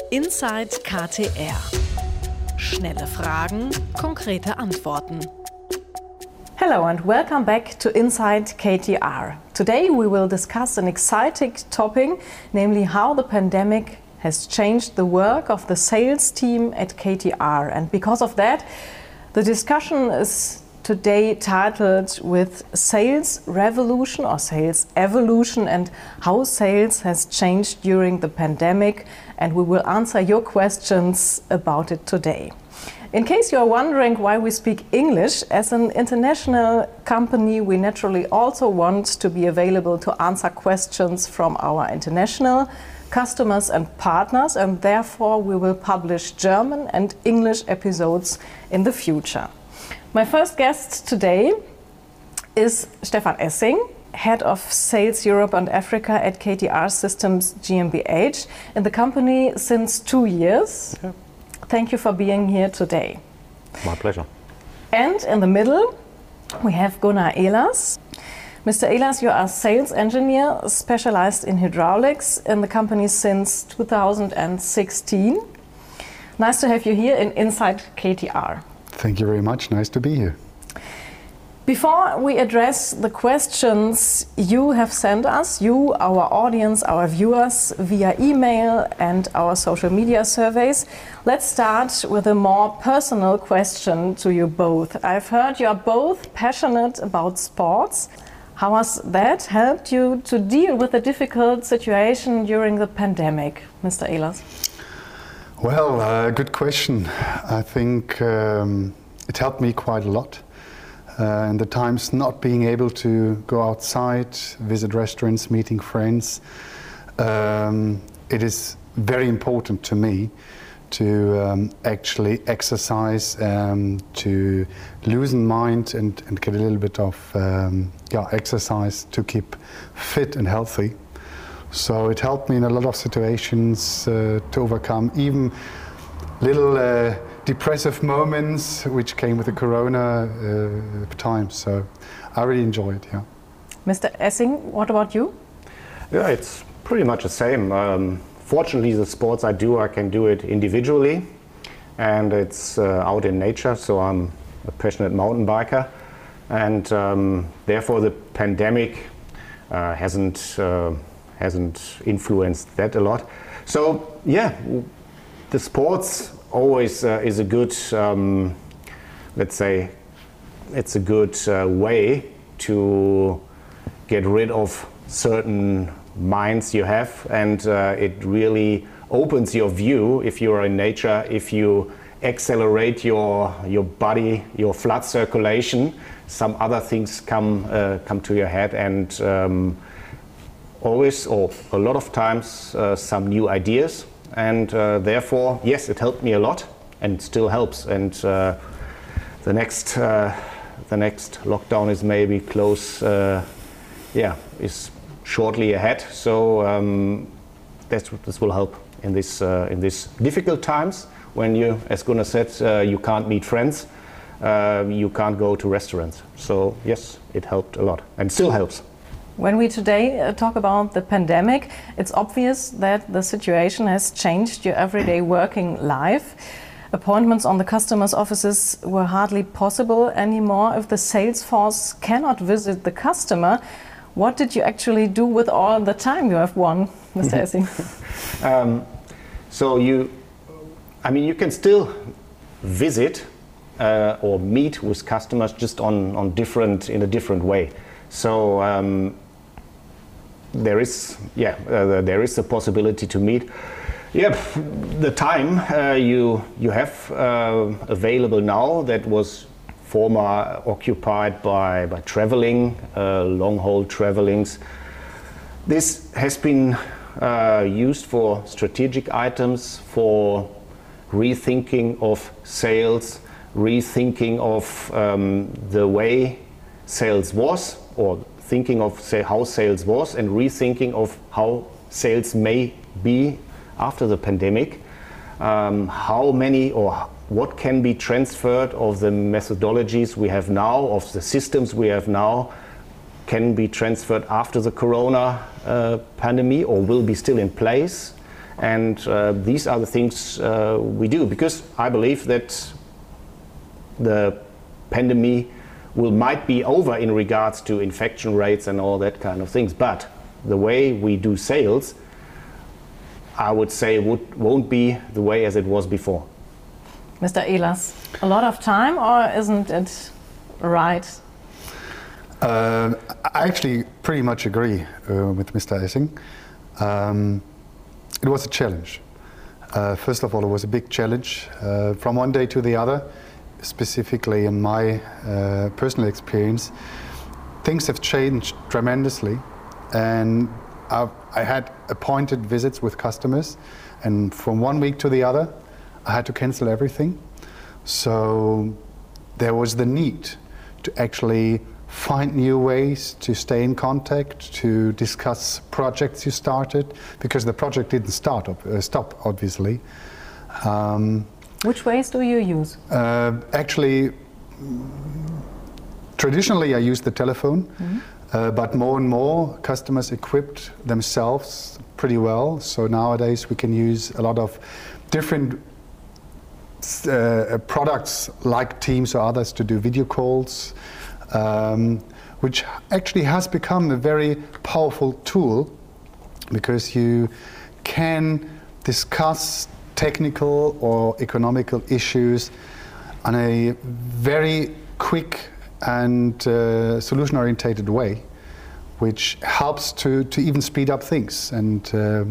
Inside KTR. Schnelle Fragen, konkrete Antworten. Hello and welcome back to Inside KTR. Today we will discuss an exciting topic, namely how the pandemic has changed the work of the sales team at KTR. And because of that, the discussion is today titled with Sales Revolution or Sales Evolution and how sales has changed during the pandemic. And we will answer your questions about it today. In case you are wondering why we speak English, as an international company, we naturally also want to be available to answer questions from our international customers and partners, and therefore we will publish German and English episodes in the future. My first guest today is Stefan Essing, Head of Sales Europe and Africa at KTR Systems GmbH, in the company since 2 years. Yeah. Thank you for being here today. My pleasure. And in the middle, we have Gunnar Ehlers. Mr. Ehlers, you are a sales engineer specialized in hydraulics in the company since 2016. Nice to have you here in Inside KTR. Thank you very much. Nice to be here. Before we address the questions you have sent us, you, our audience, our viewers, via email and our social media surveys, let's start with a more personal question to you both. I've heard you are both passionate about sports. How has that helped you to deal with the difficult situation during the pandemic, Mr. Ehlers? Well, good question. I think it helped me quite a lot. In the times not being able to go outside, visit restaurants, meeting friends, it is very important to me to actually exercise, to loosen mind and get a little bit of exercise to keep fit and healthy. So it helped me in a lot of situations to overcome even little depressive moments which came with the corona time. So I really enjoy it, yeah. Mr. Essing, what about you? Yeah, it's pretty much the same. Fortunately, the sports I do, I can do it individually, and it's out in nature, so I'm a passionate mountain biker, and therefore the pandemic hasn't influenced that a lot. So yeah, the sports always is a good, let's say, it's a good way to get rid of certain minds you have, and it really opens your view if you are in nature, if you accelerate your body, your blood circulation, some other things come to your head, and always, or a lot of times, some new ideas. And therefore, yes, it helped me a lot and still helps. And the next lockdown is maybe close, is shortly ahead. So this will help in this difficult times when you, as Gunnar said, you can't meet friends, you can't go to restaurants. So yes, it helped a lot and still helps. When we today talk about the pandemic, it's obvious that the situation has changed your everyday working life. Appointments on the customers' offices were hardly possible anymore. If the sales force cannot visit the customer, what did you actually do with all the time you have won, Mr. Essing? So you can still visit or meet with customers just in a different way. So there is a possibility to meet. Yeah, the time you have available now that was former occupied by traveling, long-haul travelings. This has been used for strategic items, for rethinking of sales, rethinking of the way sales was, or thinking of how sales was, and rethinking of how sales may be after the pandemic. How many or what can be transferred of the methodologies we have now, of the systems we have now, can be transferred after the corona pandemic or will be still in place, And these are the things we do, because I believe that the pandemic might be over in regards to infection rates and all that kind of things. But the way we do sales, I would say, won't be the way as it was before. Mr. Ehlers, a lot of time, or isn't it right? I actually pretty much agree with Mr. Essing. It was a challenge. First of all, it was a big challenge from one day to the other. Specifically in my personal experience, things have changed tremendously, and I had appointed visits with customers, and from one week to the other I had to cancel everything. So there was the need to actually find new ways to stay in contact, to discuss projects you started, because the project didn't stop obviously. Which ways do you use? Actually, traditionally I used the telephone, but more and more customers equipped themselves pretty well. So nowadays we can use a lot of different products like Teams or others to do video calls, which actually has become a very powerful tool, because you can discuss technical or economical issues in a very quick and solution-orientated way, which helps to even speed up things. And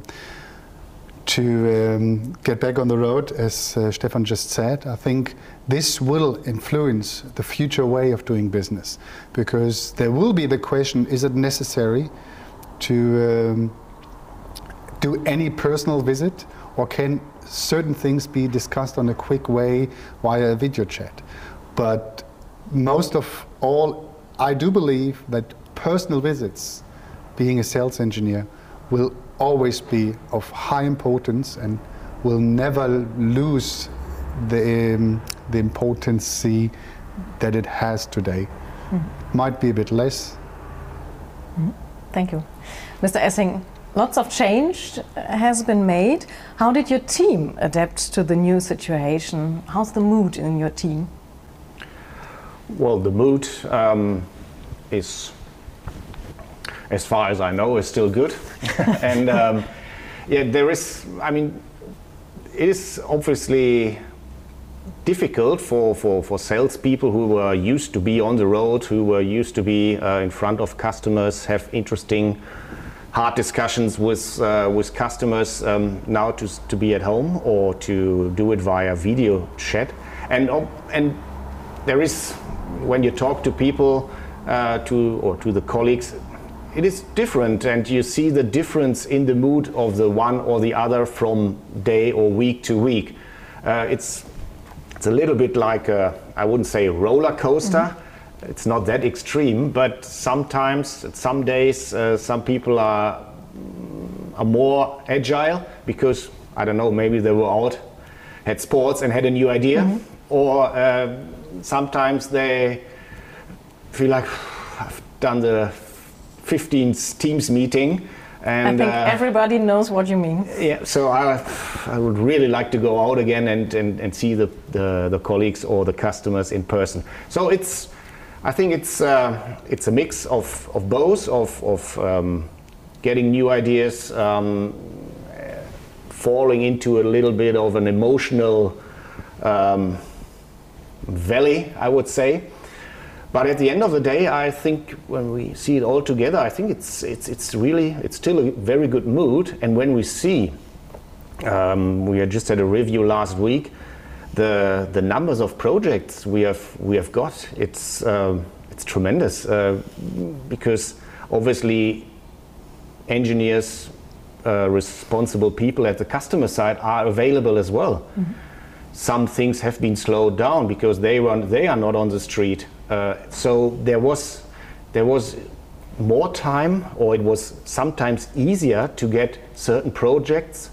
to get back on the road, as Stefan just said, I think this will influence the future way of doing business, because there will be the question, is it necessary to do any personal visit, or can certain things be discussed on a quick way via a video chat? But most of all, I do believe that personal visits, being a sales engineer, will always be of high importance and will never lose the importance that it has today. Might be a bit less. Thank you. Mr. Essing, lots of change has been made. How did your team adapt to the new situation? How's the mood in your team? Well, the mood is, as far as I know, is still good. And yeah, there is, I mean, it is obviously difficult for salespeople who were used to be on the road, who were used to be in front of customers, have interesting, hard discussions with customers, now to be at home or to do it via video chat. And there is, when you talk to people, to the colleagues, it is different, and you see the difference in the mood of the one or the other from day or week to week. It's a little bit like I wouldn't say roller coaster. It's not that extreme, but sometimes, some days, some people are more agile because, I don't know, maybe they were out, had sports and had a new idea, or sometimes they feel like, I've done the 15th Teams meeting. And, I think everybody knows what you mean. Yeah, so I would really like to go out again and see the colleagues or the customers in person. So I think it's a mix of both, of getting new ideas, falling into a little bit of an emotional valley, I would say. But at the end of the day, I think when we see it all together, I think it's still a very good mood. And when we see, we had just had a review last week, the numbers of projects we have got, it's tremendous, because obviously engineers, responsible people at the customer side are available as well. Some things have been slowed down because they are not on the street. So there was more time, or it was sometimes easier to get certain projects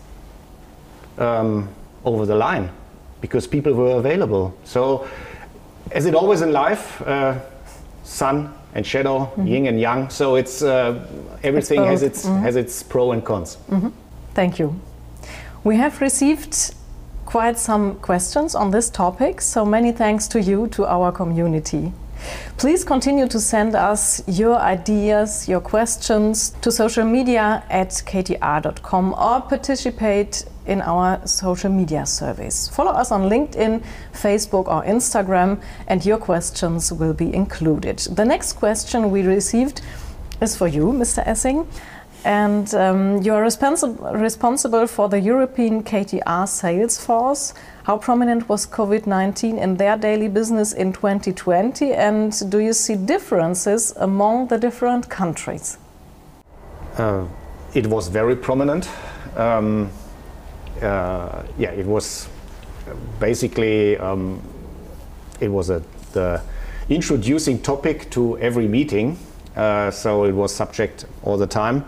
over the line because people were available. So as it always in life, sun and shadow, yin and yang. So it's everything has its pro and cons. Thank you. We have received quite some questions on this topic, so many thanks to you, to our community. Please continue to send us your ideas, your questions to social media at ktr.com or participate in our social media surveys. Follow us on LinkedIn, Facebook or Instagram, and your questions will be included. The next question we received is for you, Mr. Essing. And you are responsible for the European KTR sales force. How prominent was COVID-19 in their daily business in 2020? And do you see differences among the different countries? It was very prominent. It was basically it was the introducing topic to every meeting. So it was subject all the time.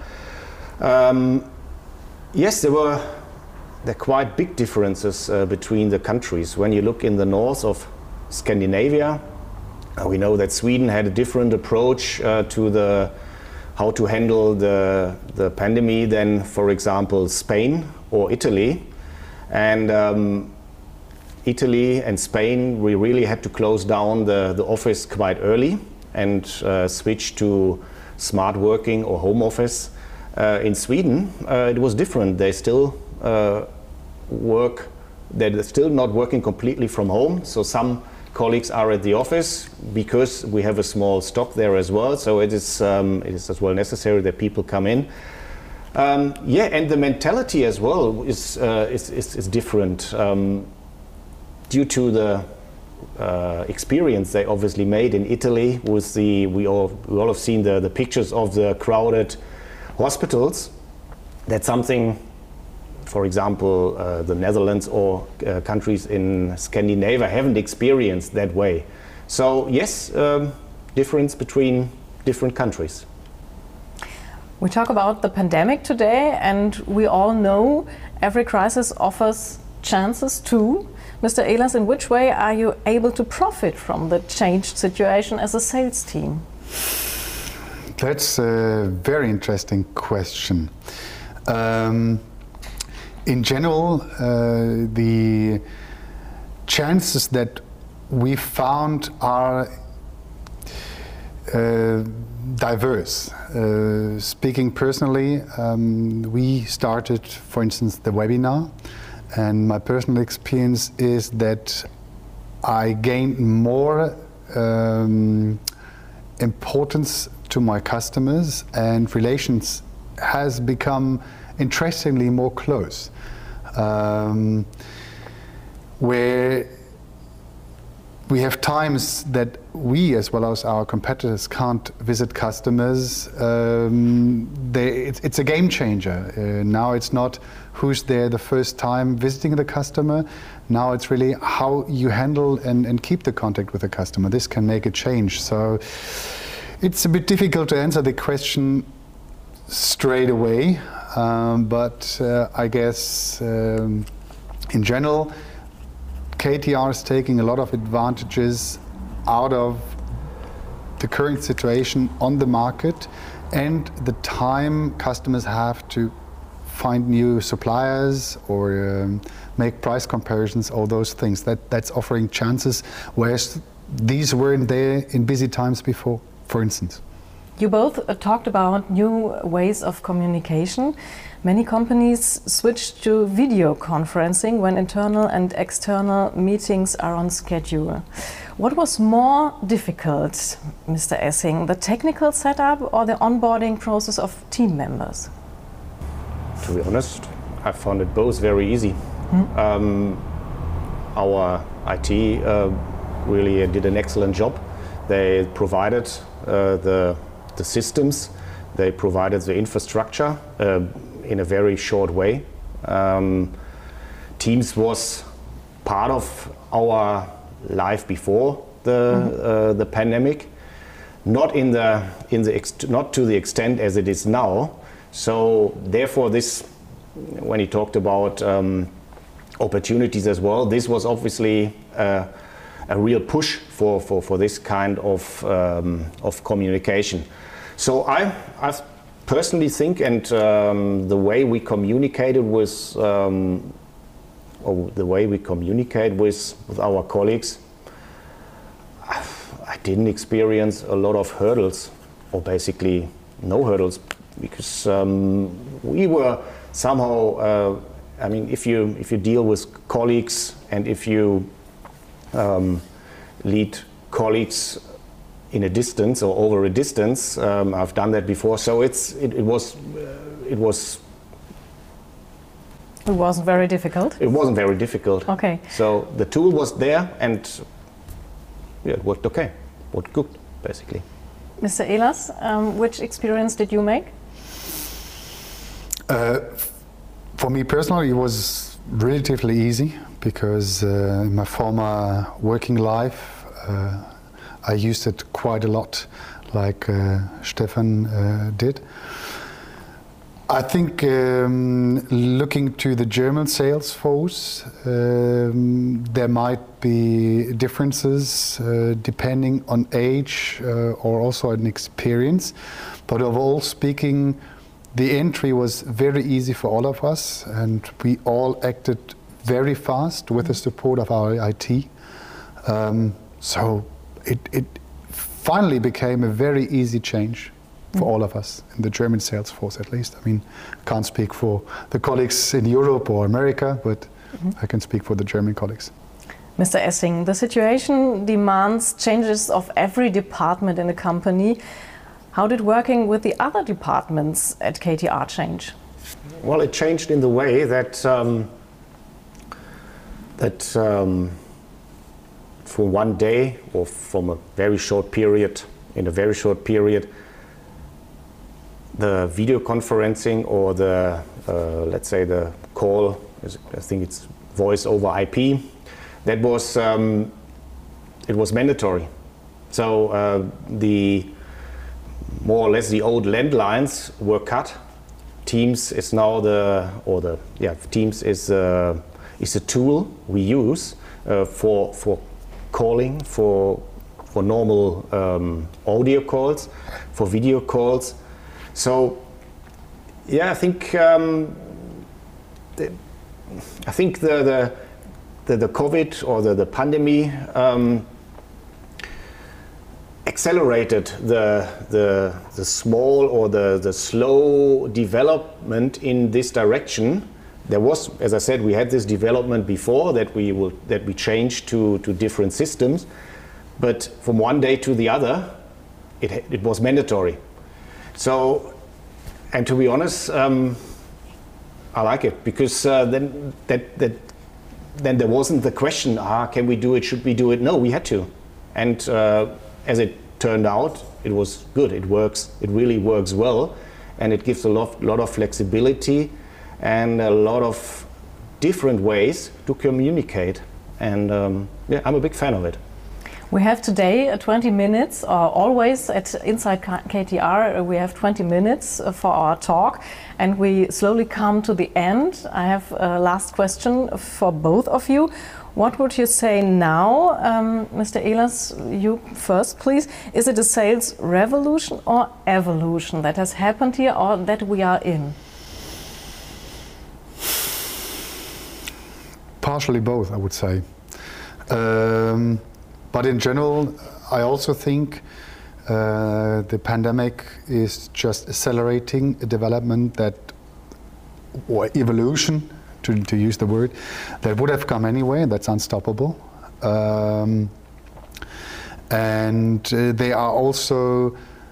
Yes, there are quite big differences between the countries. When you look in the north of Scandinavia, we know that Sweden had a different approach to how to handle the pandemic than, for example, Spain or Italy. And Italy and Spain, we really had to close down the office quite early and switch to smart working or home office. In Sweden, it was different. They still they're still not working completely from home. So some colleagues are at the office because we have a small stock there as well. So it is as well necessary that people come in. And the mentality as well is different due to the experience they obviously made in Italy. With we all have seen the pictures of the crowded hospitals. That's something, for example, the Netherlands or countries in Scandinavia haven't experienced that way. So yes, difference between different countries. We talk about the pandemic today, and we all know every crisis offers chances too. Mr. Ehlers, in which way are you able to profit from the changed situation as a sales team? That's a very interesting question. In general, the chances that we found are diverse. Speaking personally, we started, for instance, the webinar, and my personal experience is that I gained more importance to my customers, and relations has become interestingly more close, where we have times that we, as well as our competitors, can't visit customers. It's a game changer. Now it's not who's there the first time visiting the customer. Now it's really how you handle and keep the contact with the customer. This can make a change. So it's a bit difficult to answer the question straight away, but I guess in general, KTR is taking a lot of advantages out of the current situation on the market and the time customers have to find new suppliers or make price comparisons, all those things. That's offering chances, whereas these weren't there in busy times before, for instance. You both talked about new ways of communication. Many companies switched to video conferencing when internal and external meetings are on schedule. What was more difficult, Mr. Essing, the technical setup or the onboarding process of team members? To be honest, I found it both very easy. Our IT really did an excellent job. They provided the systems, they provided the infrastructure in a very short way. Teams was part of our life before the pandemic, not to the extent as it is now. So therefore, this, when he talked about opportunities as well, this was obviously a real push for this kind of communication. So I personally think, and the way we communicated with, or the way we communicate with our colleagues, I didn't experience a lot of hurdles, or basically no hurdles, because we were somehow, I mean, if you deal with colleagues and if you lead colleagues in a distance or over a distance, I've done that before, so it wasn't very difficult. It wasn't very difficult. Okay. So the tool was there, and yeah, it worked okay. Worked good, basically. Mr. Ehlers, which experience did you make? For me personally, it was relatively easy because in my former working life, I used it quite a lot, like Stefan did. I think looking to the German sales force, there might be differences depending on age or also on experience. But overall speaking, the entry was very easy for all of us, and we all acted very fast with the support of our IT. So it finally became a very easy change for all of us in the German sales force, at least. I mean, I can't speak for the colleagues in Europe or America, but I can speak for the German colleagues. Mr. Essing, the situation demands changes of every department in a company. How did working with the other departments at KTR change? Well, it changed in the way that for one day or from a very short period, in a very short period, the video conferencing or the, let's say the call, I think it's voice over IP, that was, it was mandatory. So the more or less the old landlines were cut. Teams is now Teams is a tool we use for calling, for normal audio calls, for video calls. So, yeah, I think the COVID or the pandemic accelerated the small or the slow development in this direction. There was, as I said, we had this development before that we changed to different systems, but from one day to the other, it was mandatory. So, and to be honest, I like it because then there wasn't the question, can we do it, should we do it? No, we had to. And as it turned out, it was good, it works, it really works well, and it gives a lot of flexibility and a lot of different ways to communicate. And yeah, I'm a big fan of it. We have today 20 minutes, always at Inside KTR, we have 20 minutes for our talk, and we slowly come to the end. I have a last question for both of you. What would you say now? Mr. Ehlers, you first, please. Is it a sales revolution or evolution that has happened here or that we are in? Partially both, I would say. But in general, I also think the pandemic is just accelerating a development or evolution, to use the word, that would have come anyway, and that's unstoppable. And there are also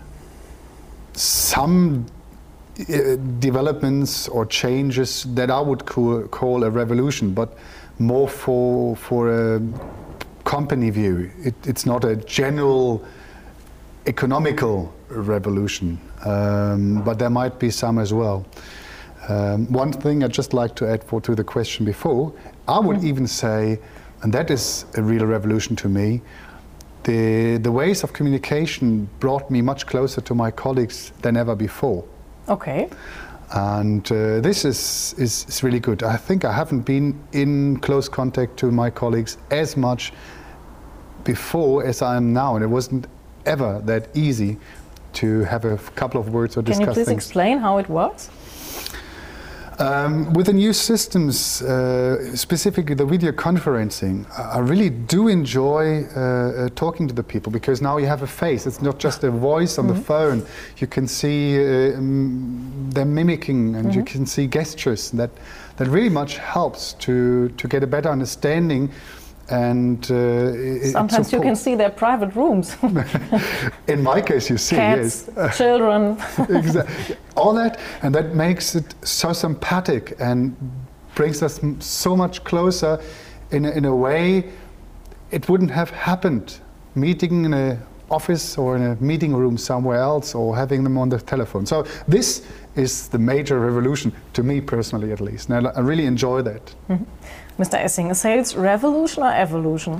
some developments or changes that I would call a revolution, but more for a company view. It's not a general economical revolution, but there might be some as well. One thing I'd just like to add to the question before, I would even say, and that is a real revolution to me, the ways of communication brought me much closer to my colleagues than ever before. Okay. And this is really good. I think I haven't been in close contact to my colleagues as much before as I am now, and it wasn't ever that easy to have a couple of words or discuss things. Can you please explain how it works? With the new systems, specifically the video conferencing, I really do enjoy talking to the people, because now you have a face. It's not just a voice on the phone. You can see them mimicking, and you can see gestures. That really much helps to get a better understanding. And sometimes you can see their private rooms. In my case, you see cats, children, exactly, all that, and that makes it so sympathetic and brings us so much closer. In a way, it wouldn't have happened meeting in an office or in a meeting room somewhere else, or having them on the telephone. So this is the major revolution, to me personally at least, and I really enjoy that. Mr. Essing, a sales revolution or evolution?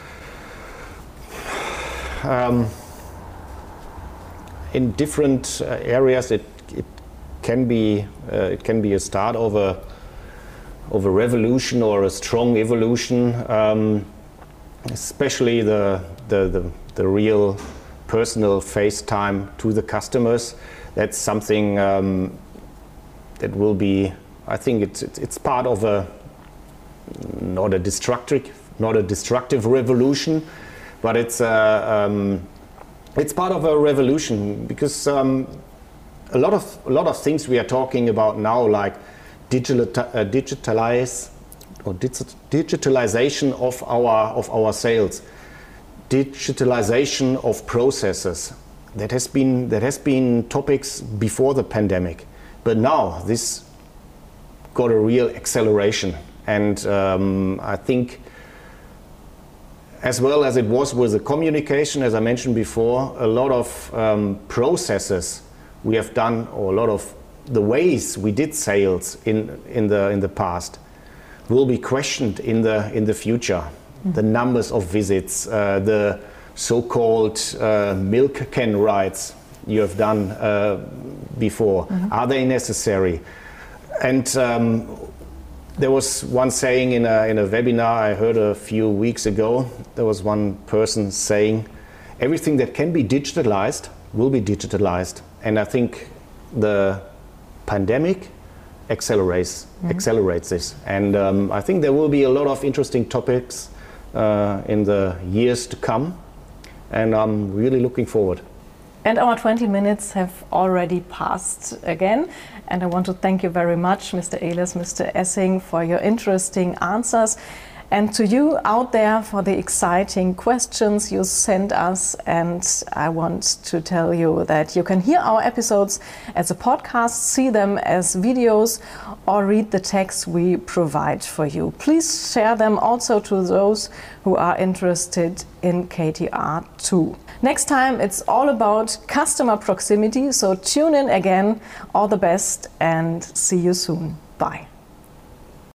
In different areas, it can be a start of a revolution or a strong evolution. Especially the real personal face time to the customers. That's something that will be. I think it's part of a not a destructive revolution, but it's part of a revolution, because a lot of things we are talking about now, like digitalization of our sales, digitalization of processes. That has been topics before the pandemic, but now this got a real acceleration. And I think, as well as it was with the communication, as I mentioned before, a lot of processes we have done, or a lot of the ways we did sales in the past will be questioned in the future. The numbers of visits, the so-called milk can rides you have done before, are they necessary? And there was one saying in a webinar I heard a few weeks ago. There was one person saying, everything that can be digitalized will be digitalized. And I think the pandemic accelerates this. And I think there will be a lot of interesting topics in the years to come. And I'm really looking forward. And our 20 minutes have already passed again. And I want to thank you very much, Mr. Ehlers, Mr. Essing, for your interesting answers. And to you out there for the exciting questions you sent us. And I want to tell you that you can hear our episodes as a podcast, see them as videos, or read the text we provide for you. Please share them also to those who are interested in KTR too. Next time it's all about customer proximity, so tune in again. All the best and see you soon. Bye.